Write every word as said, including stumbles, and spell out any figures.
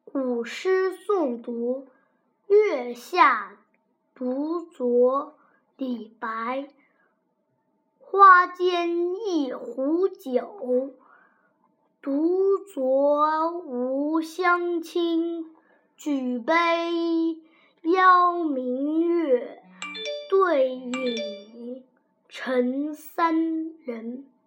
古诗诵读，月下独酌李白。花间一壶酒，独酌无相亲。举杯邀明月，对影成三人。